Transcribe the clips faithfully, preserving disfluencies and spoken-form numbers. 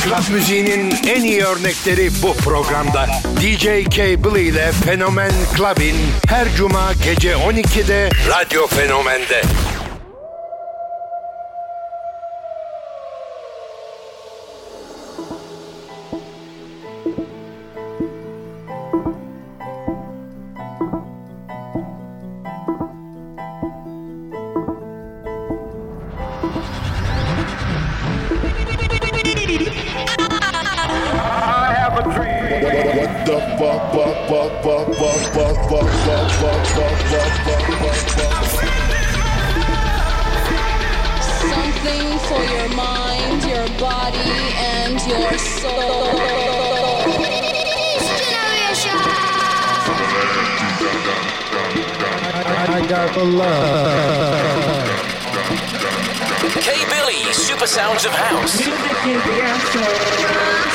Club müziğinin en iyi örnekleri bu programda. D J Cable ile Fenomen Club'in her cuma gece on ikide Radyo Fenomen'de. Something for your mind, your body, and your soul. I got the love. K Billy, Super Sounds of House. Music is the answer.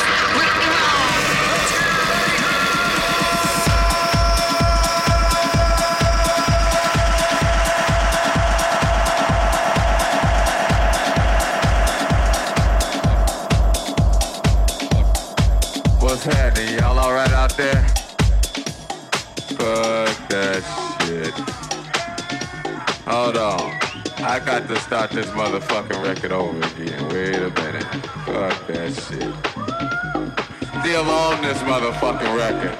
What's happening? Y'all alright out there? Fuck that shit. Hold on. I got to start this motherfucking record over again. Wait a minute. Fuck that shit. Still on this motherfucking record.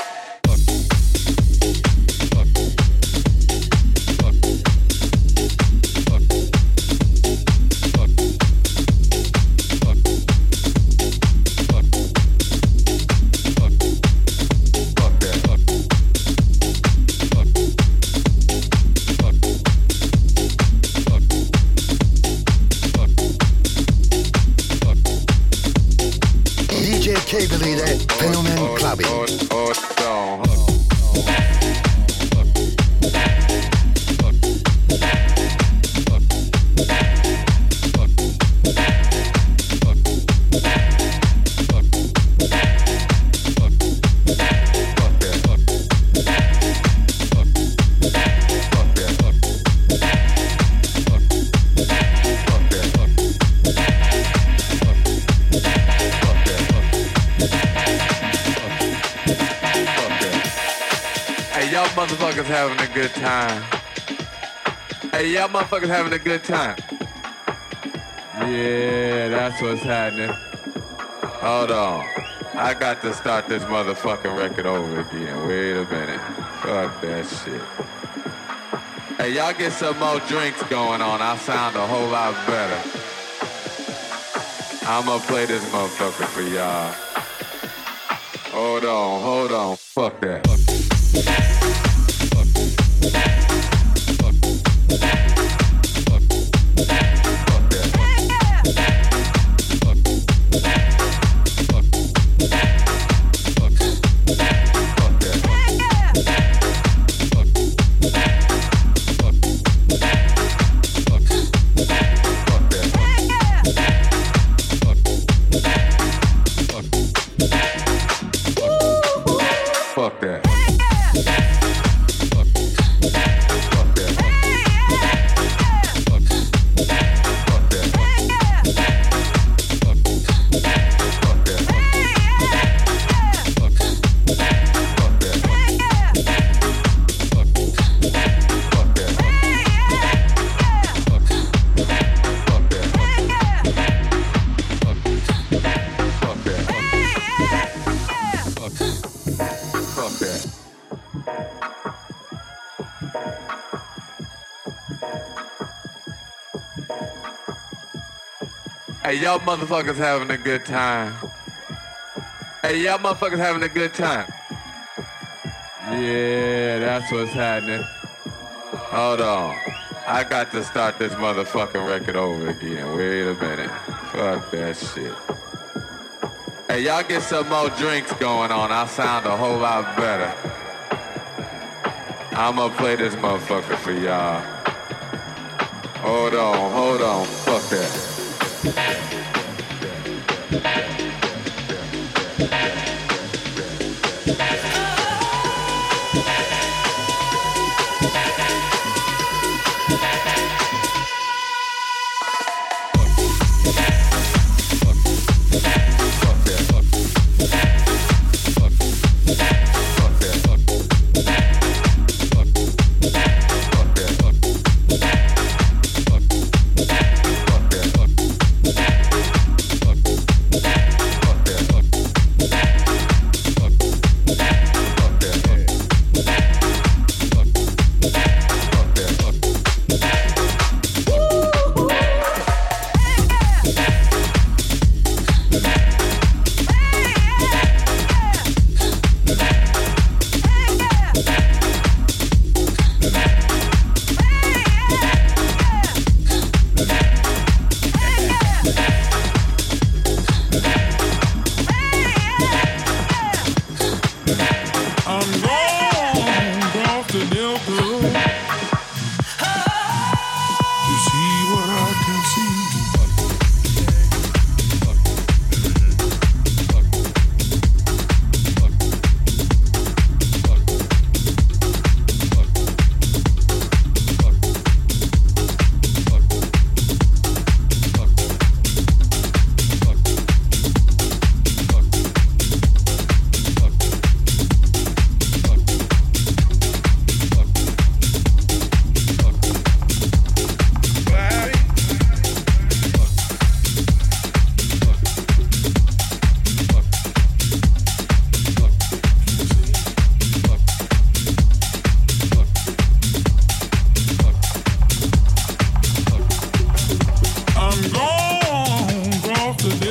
Cable ile Fenomen Club'in. Motherfuckers having a good time. Hey, y'all motherfuckers having a good time. Yeah, that's what's happening. Hold on. I got to start this motherfucking record over again. Wait a minute. Fuck that shit. Hey, y'all get some more drinks going on. I sound a whole lot better. I'ma play this motherfucker for y'all. Hold on, hold on. Fuck that. Fuck that. Fuck that. Hey, y'all motherfuckers having a good time. Hey, y'all motherfuckers having a good time. Yeah, that's what's happening. Hold on. I got to start this motherfucking record over again. Wait a minute. Fuck that shit. Hey, y'all get some more drinks going on. I sound a whole lot better. I'ma play this motherfucker for y'all. Hold on, hold on. Fuck that.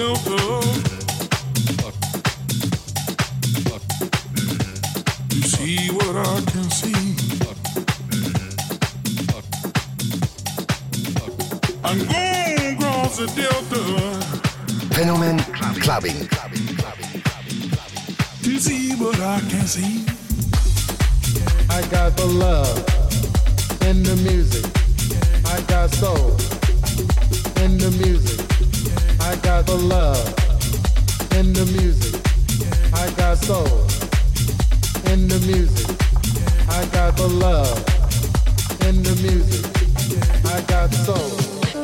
Delta. You see what I can see. I'm going across the Delta. Fenomen Clubbing. To see what I can see. I got the love in the music. I got soul in the music. I got the love in the music. I got soul in the music. I got the love in the music. I got soul.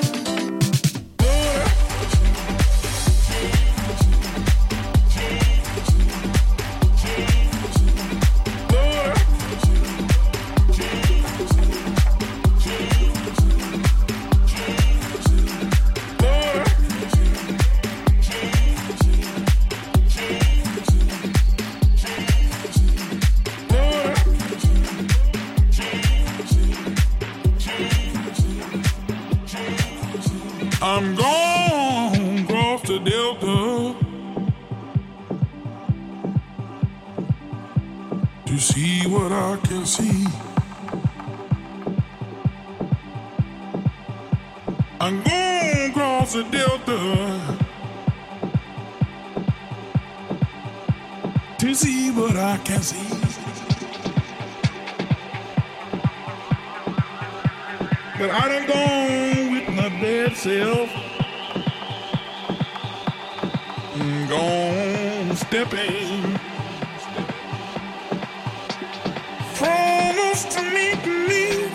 I'm gone across the Delta to see what I can see. I'm gone across the Delta to see what I can see. But I done gone with my bad self. I'm gone stepping. Promise to meet me.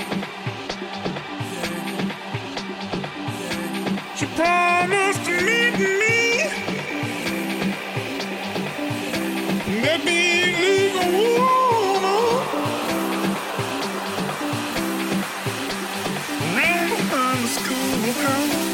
She promised to meet me. Let me leave a woman. Round the schoolhouse.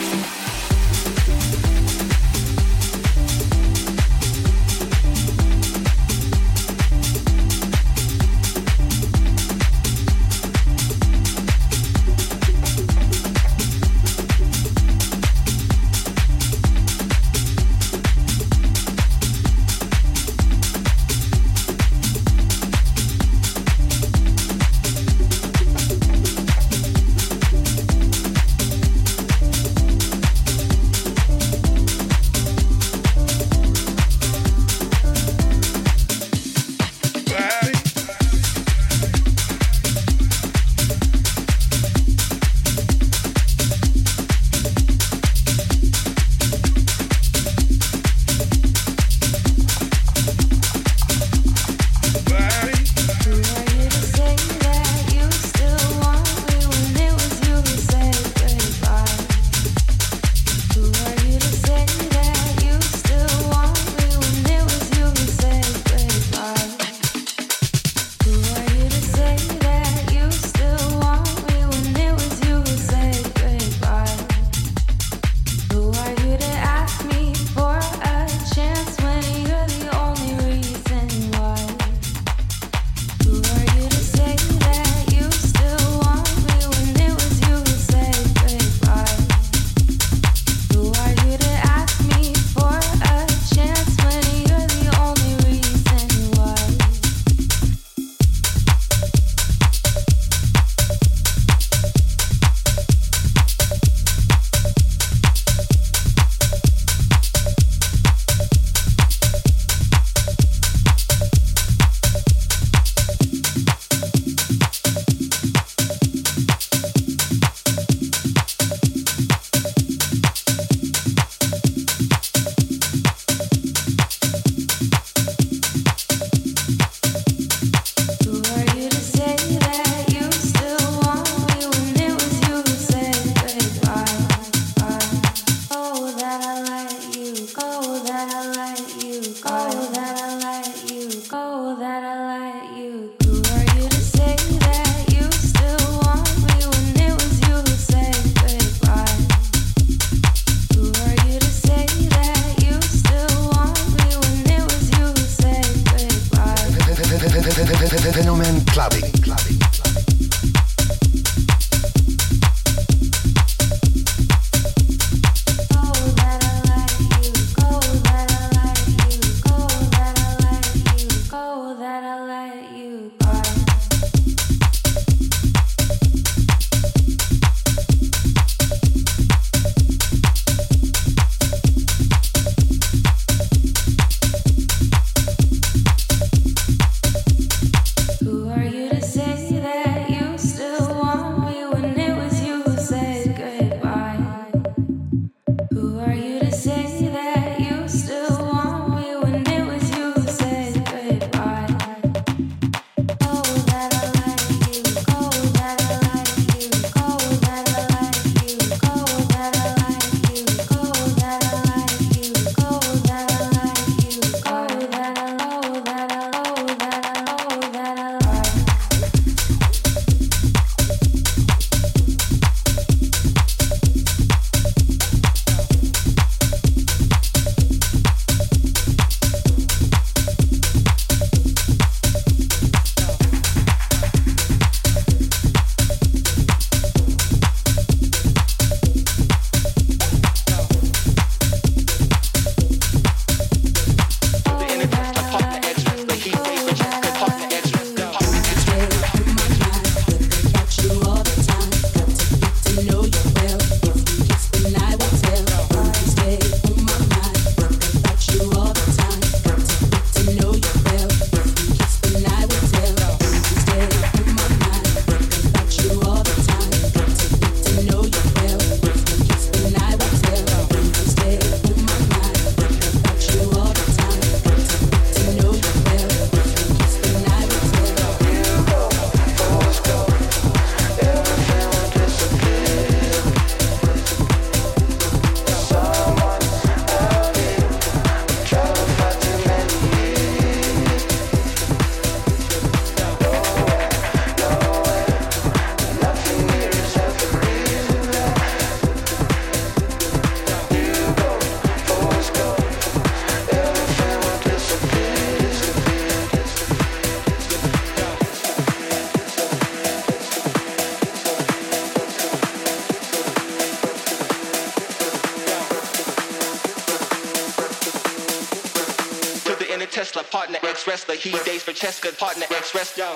Tesla, partner ex-wrestler. He dates Francesca, partner ex-wrestler.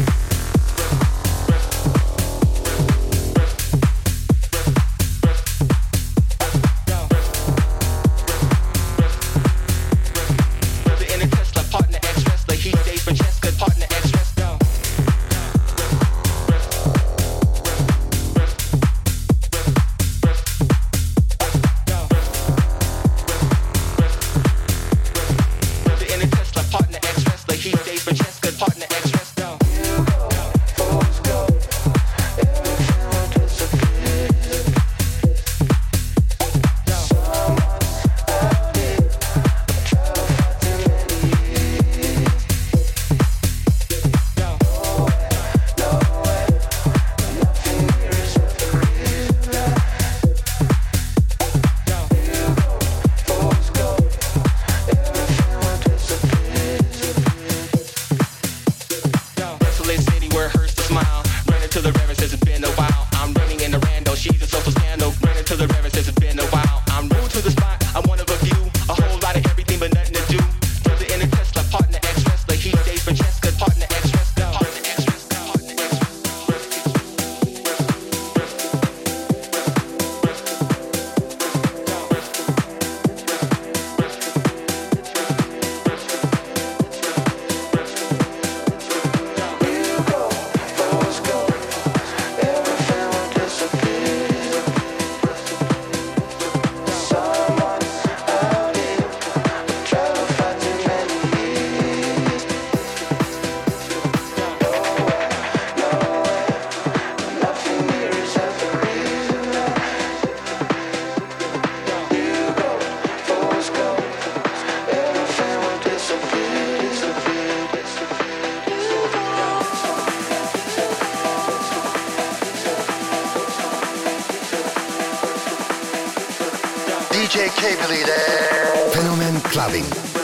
D J Cable ile Fenomen Clubbing.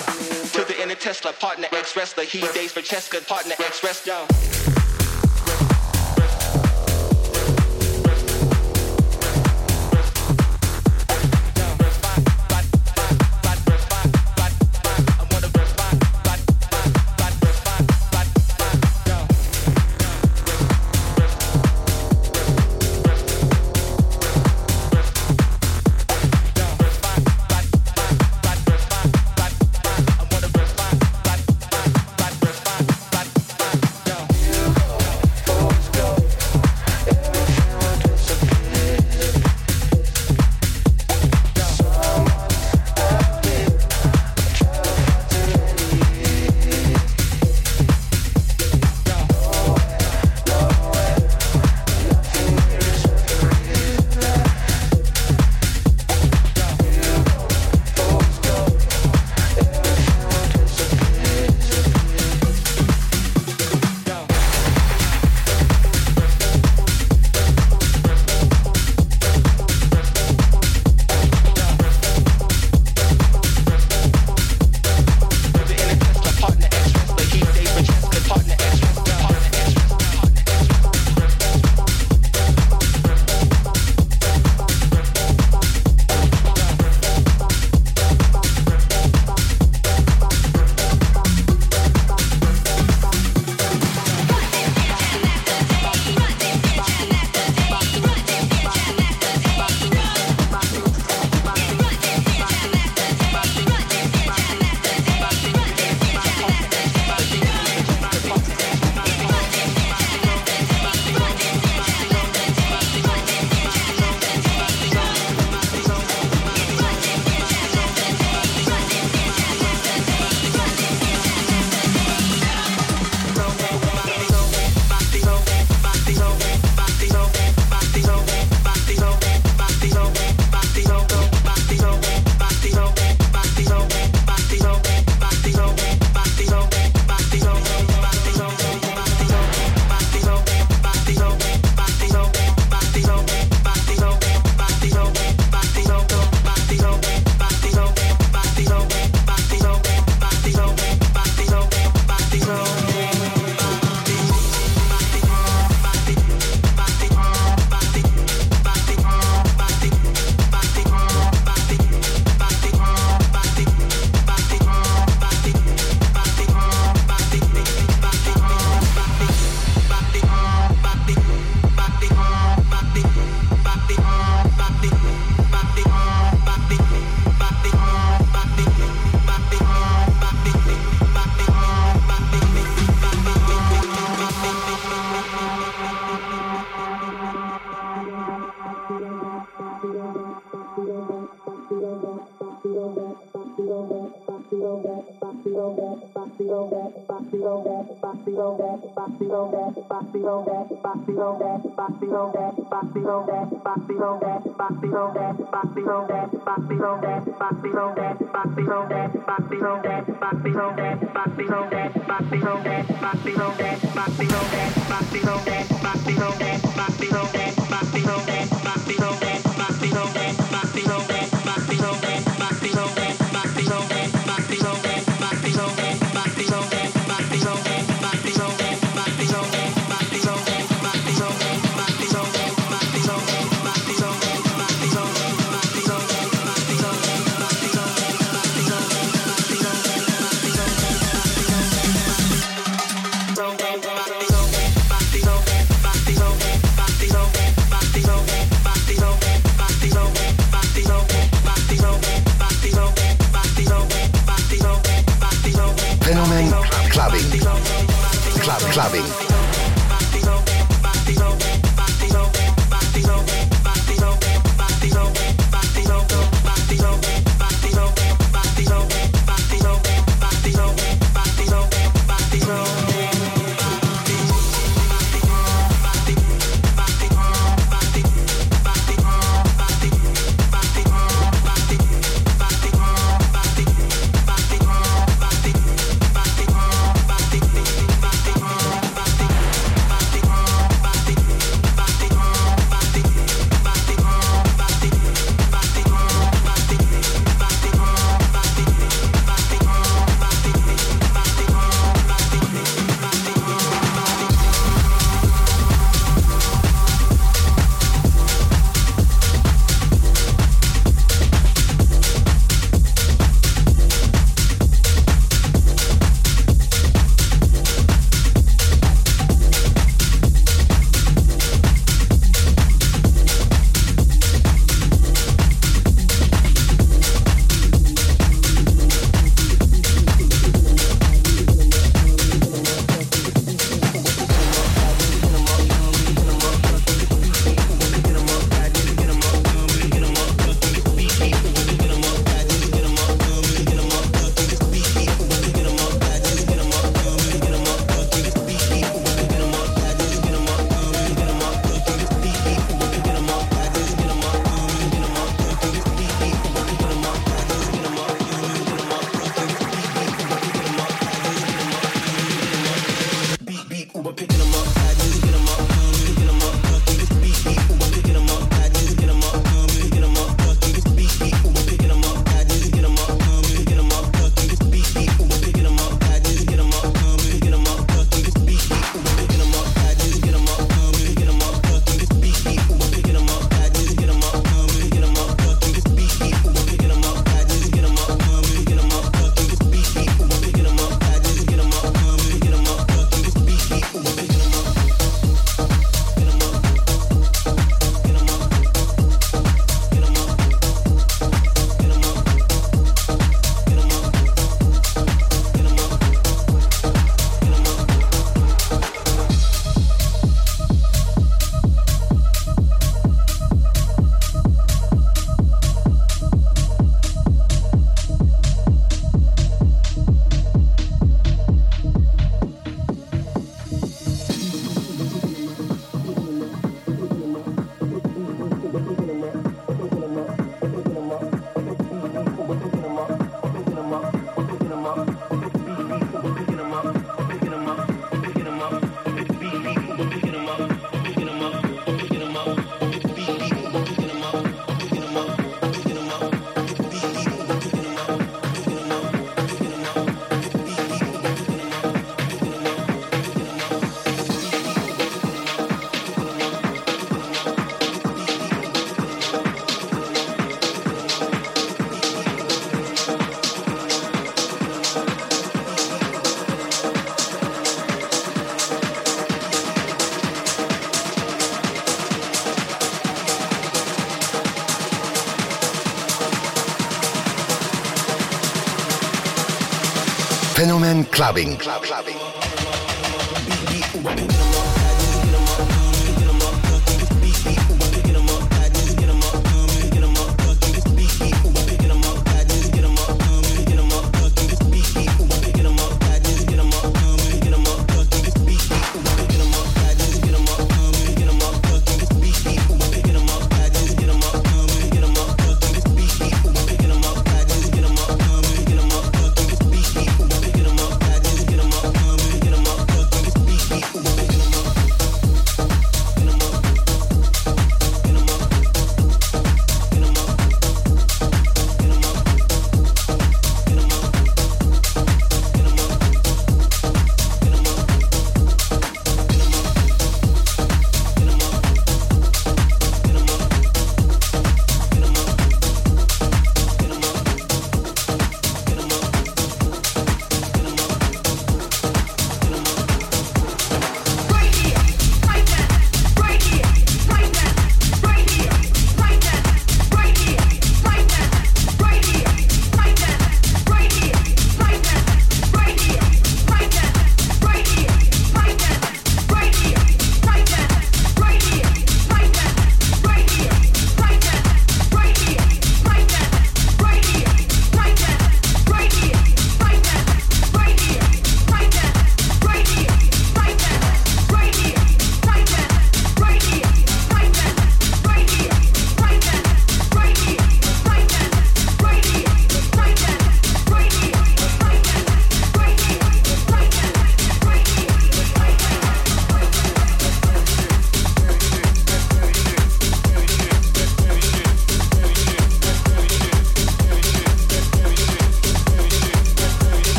To the inner Tesla, partner ex-wrestler. He dates Francesca, partner ex-wrestler. You Fenomen Clubbing. Club Clubbing. Fenomen Clubbing. Club Clubbing.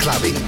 Clubbing.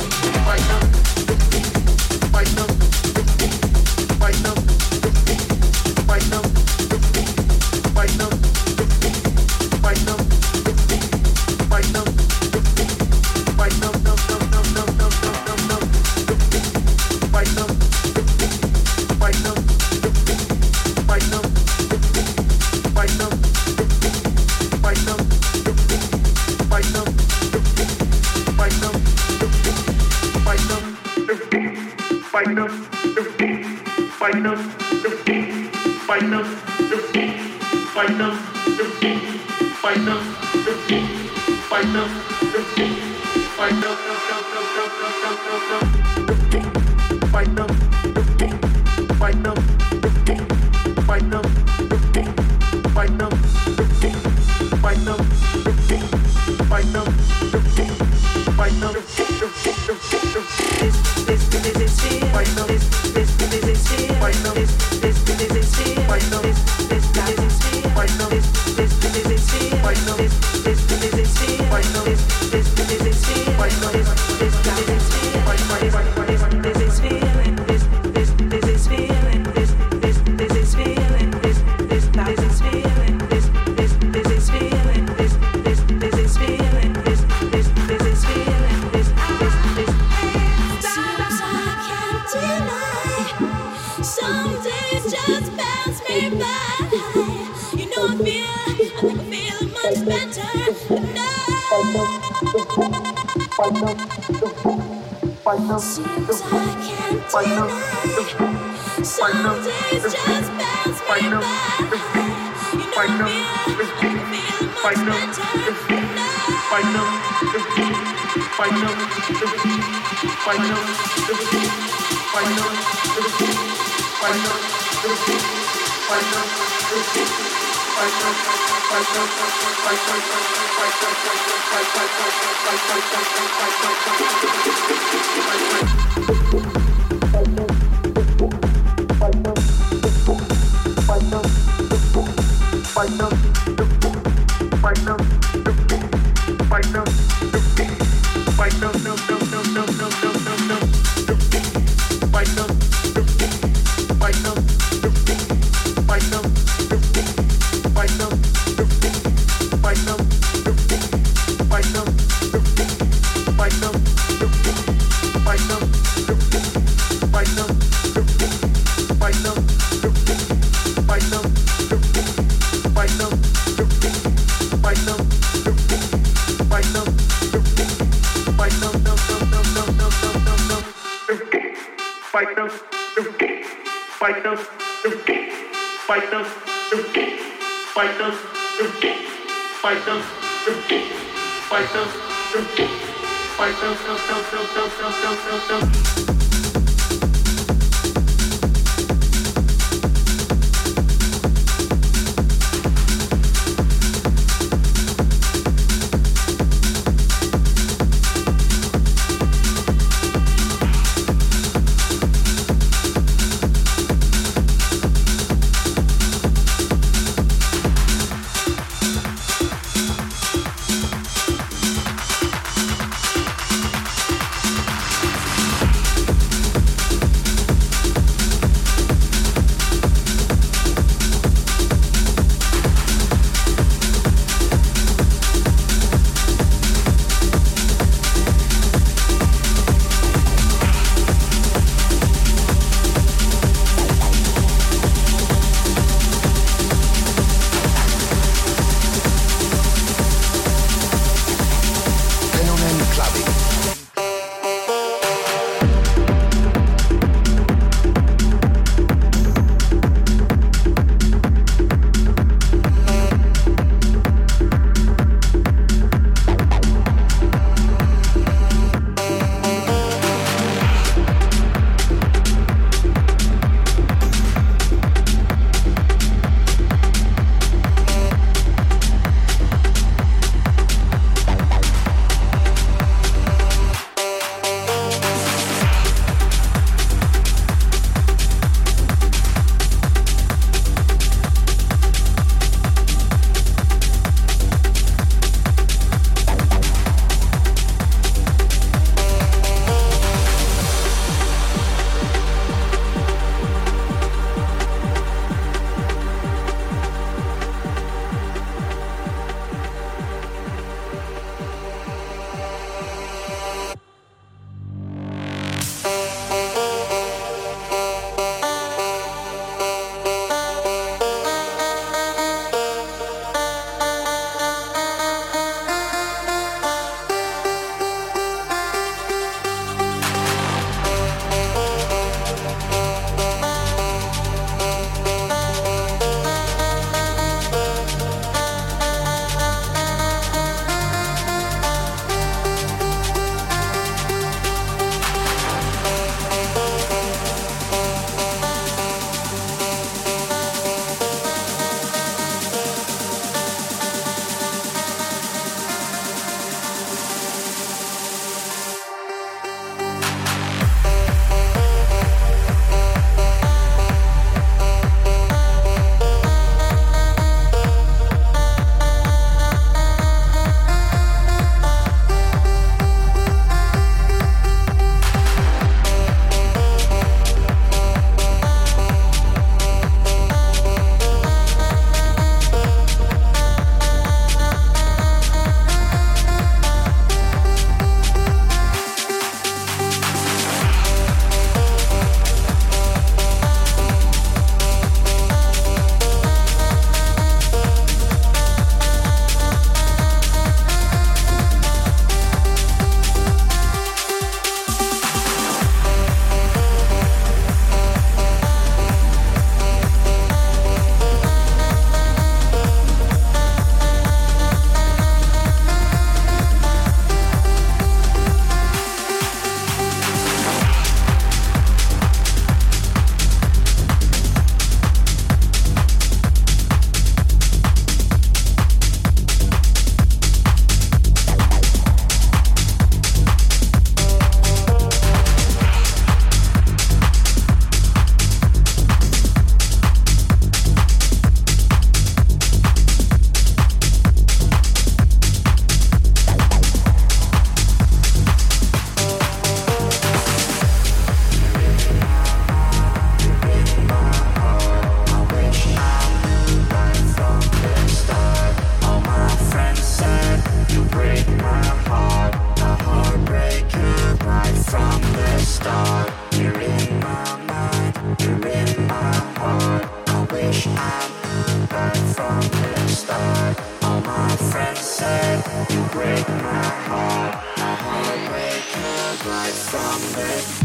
you break my heart. A heartbreaker right from the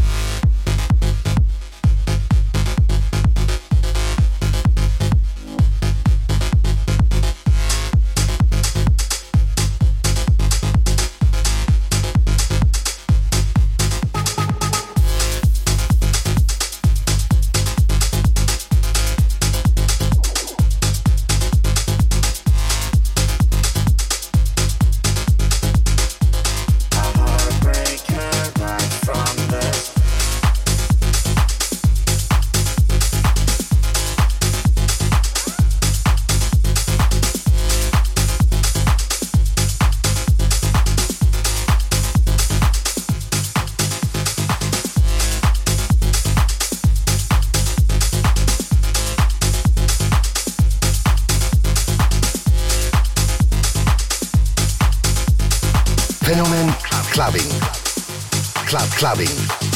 Fenomen Clubbing. Club Clubbing.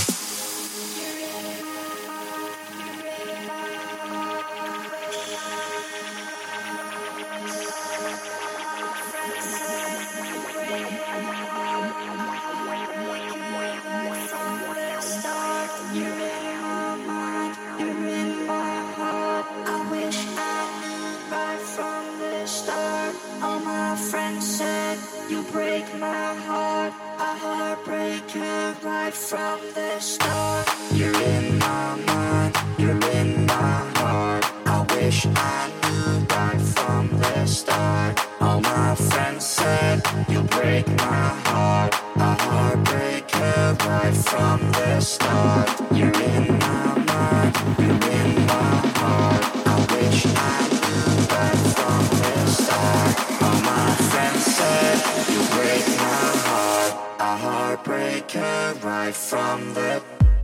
From the start, you're in my mind, you're in my heart. I wish I knew right from the start. All my friends said you break my heart. A heartbreaker right from the start. You're in my mind, you're in my heart. I wish I knew right from the start. All my friends said you break my heart. A heartbreaker right from the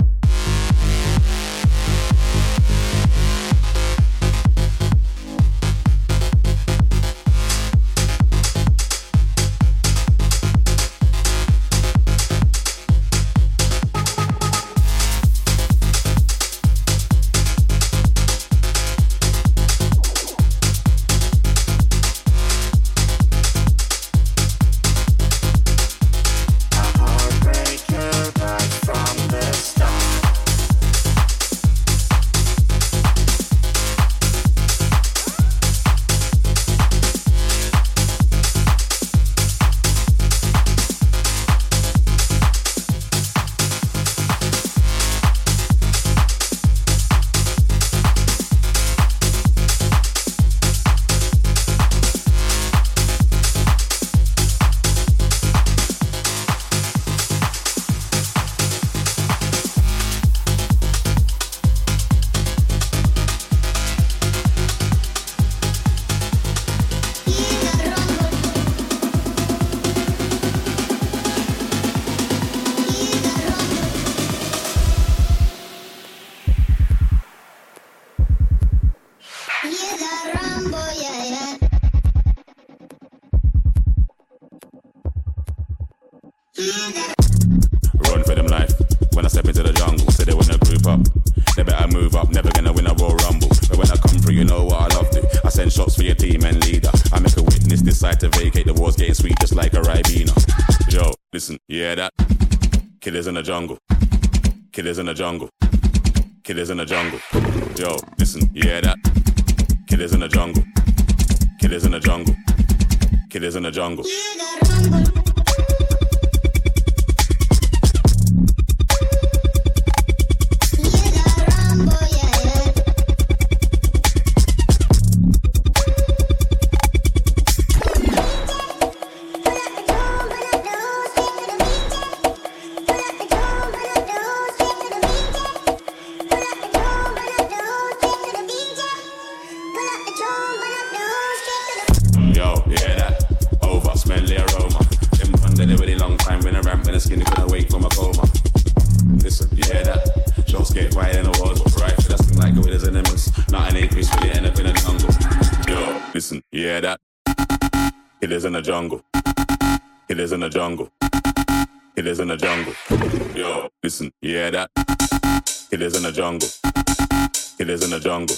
Run for them life. When I step into the jungle, say they wanna group up. They better move up, never gonna win a Royal Rumble. But when I come through, you know what I love to. I send shots for your team and leader. I make a witness decide to vacate. The war's getting sweet just like a Ribena. Yo, listen, you hear that? Killers in the jungle. Killers in the jungle. Killers in the jungle. Yo, listen, you hear that? Killers in the jungle. Killers in the jungle. Killers in the jungle. Killers in the jungle. Killers in the jungle. Killers in the jungle. Yo, listen, you hear that? Killers in the jungle. Killers in the jungle.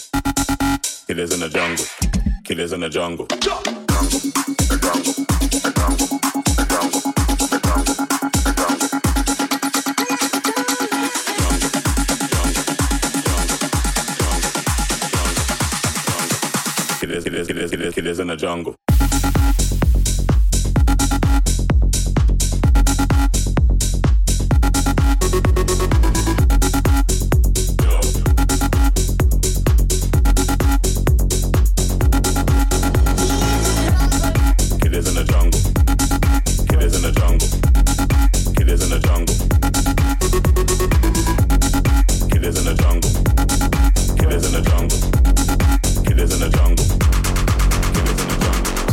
Killers in the jungle. Killers in the jungle. Jungle. The jungle. The jungle. Killers, killers in the jungle. Killers in the jungle. Killers in the jungle. Killers in the jungle. Killers in the jungle. Killers in the jungle. Killers in the jungle. Killers in the jungle.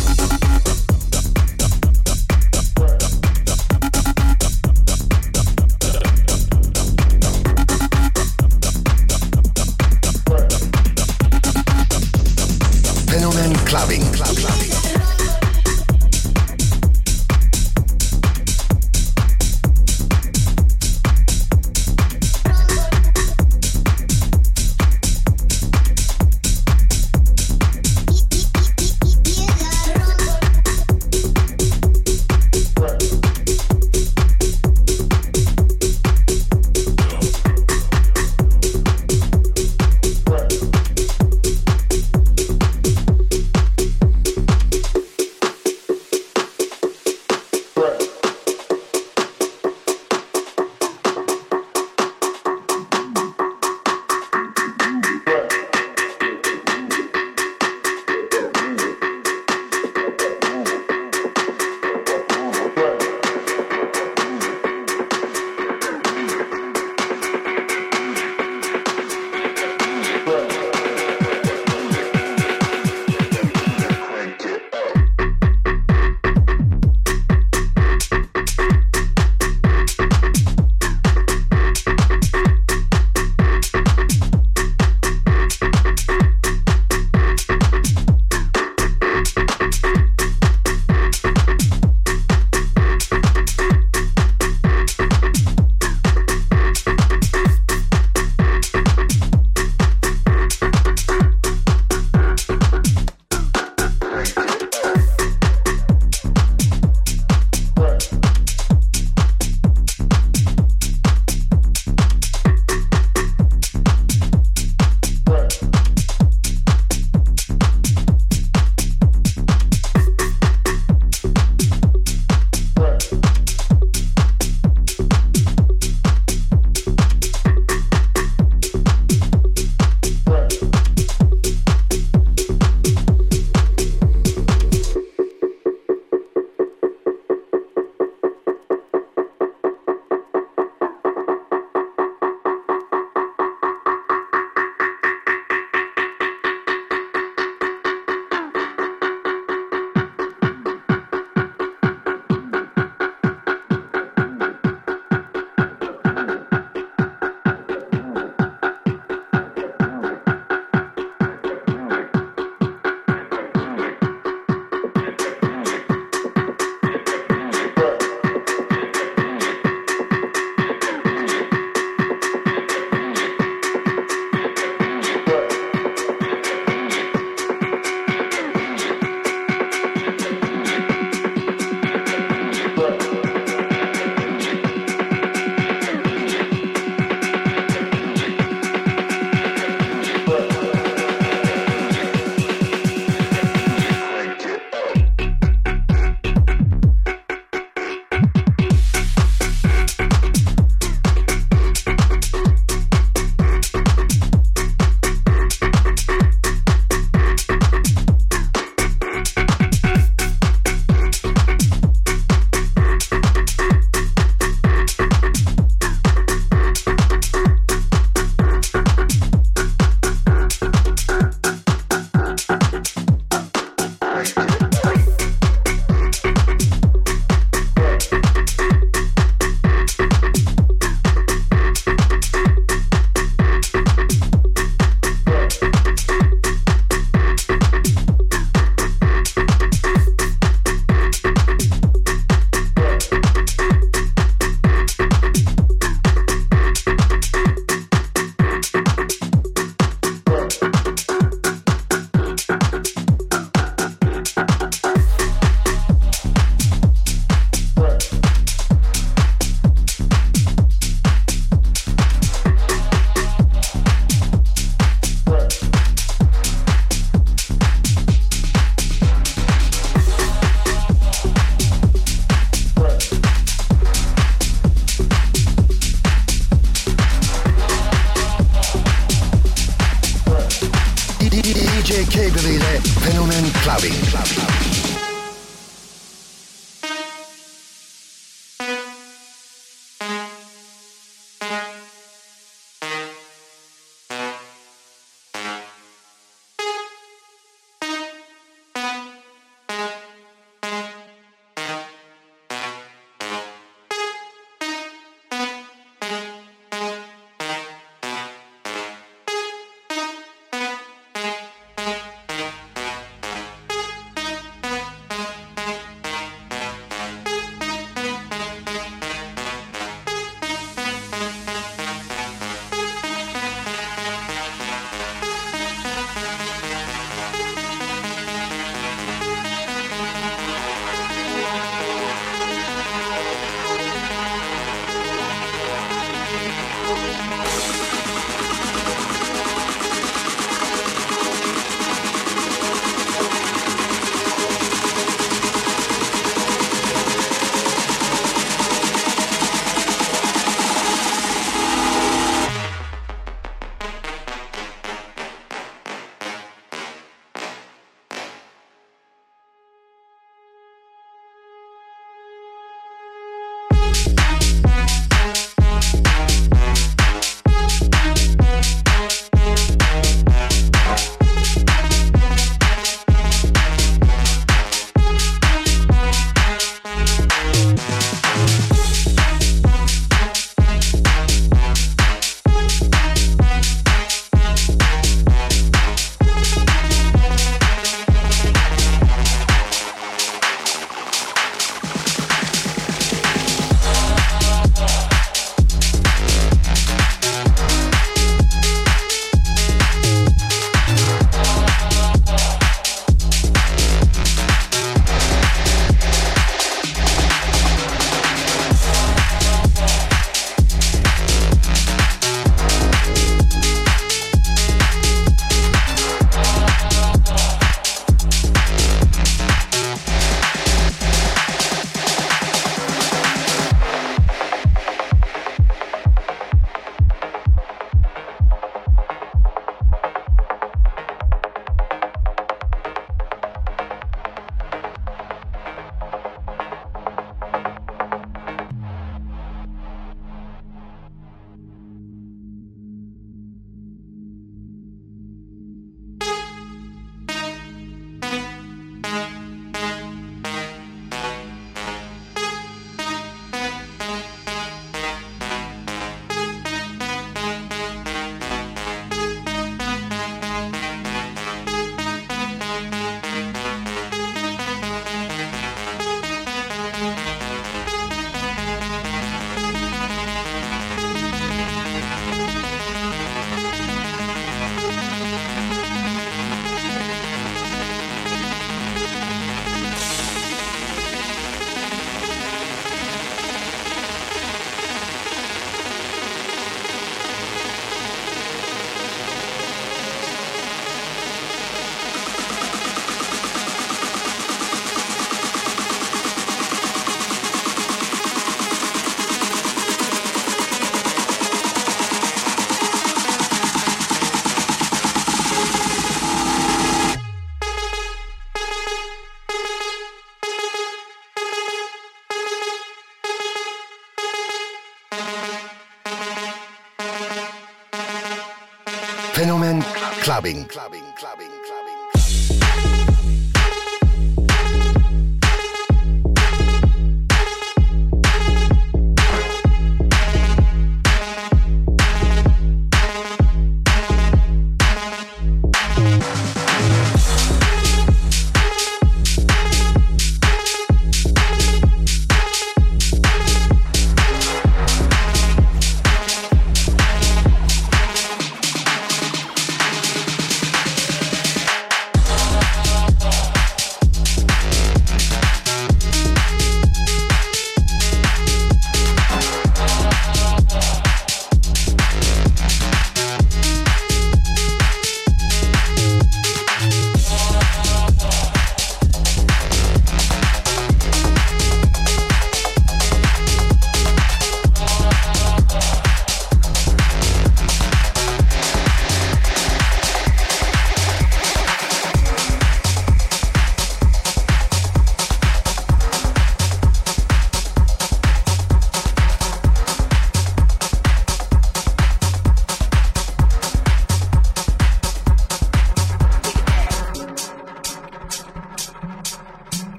Fenomen Clubbing. Clubbing, clubbing, clubbing.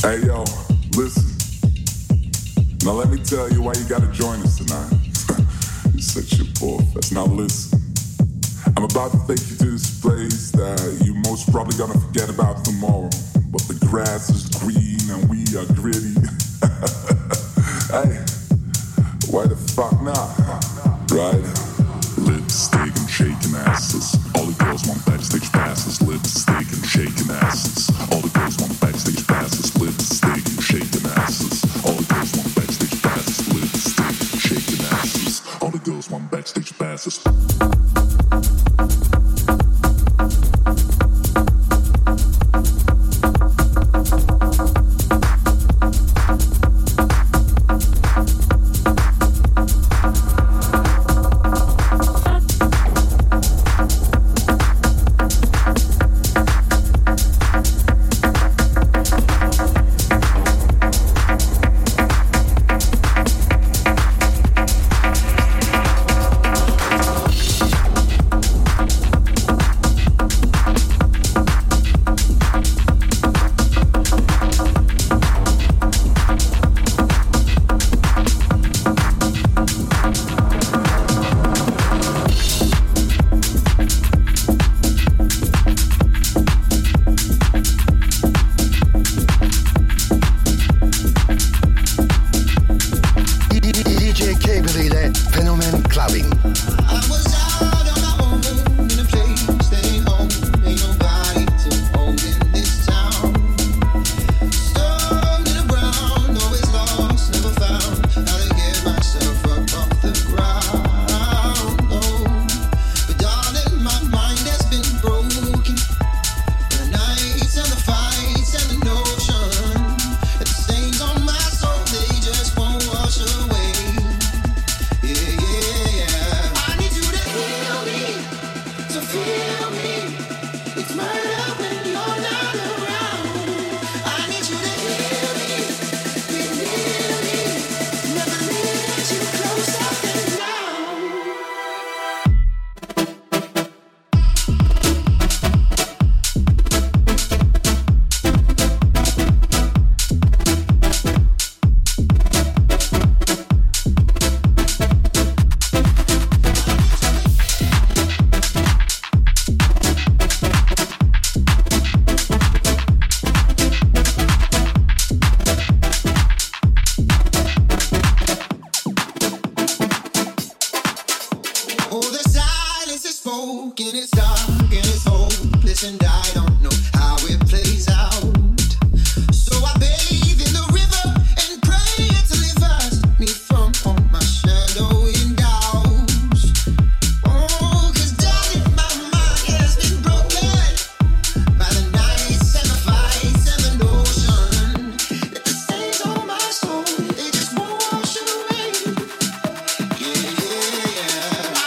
Hey yo, listen. Now let me tell you why you gotta join us tonight. You're such a poor fest. Now listen. I'm about to take you to this place that you most probably gonna forget about tomorrow. But the grass is green and we are gritty. Hey, why the fuck not? Right? Lipstick and shaking asses. All the girls want backstage passes. Lipstick and shaking asses. All the girls want backstage passes. Lipstick and shaking asses. All the girls want backstage passes. Lipstick and shaking asses. All the girls want backstage passes.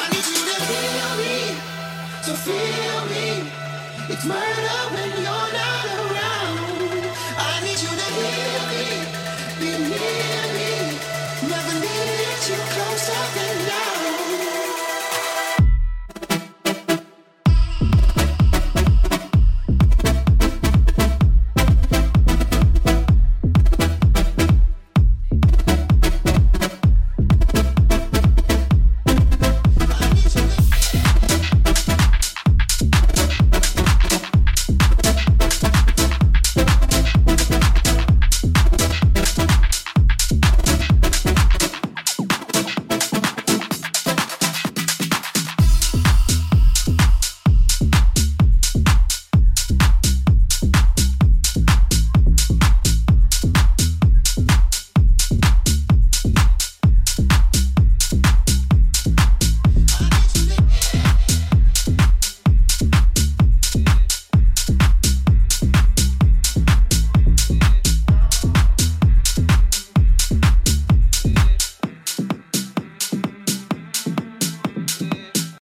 It's murder when you're not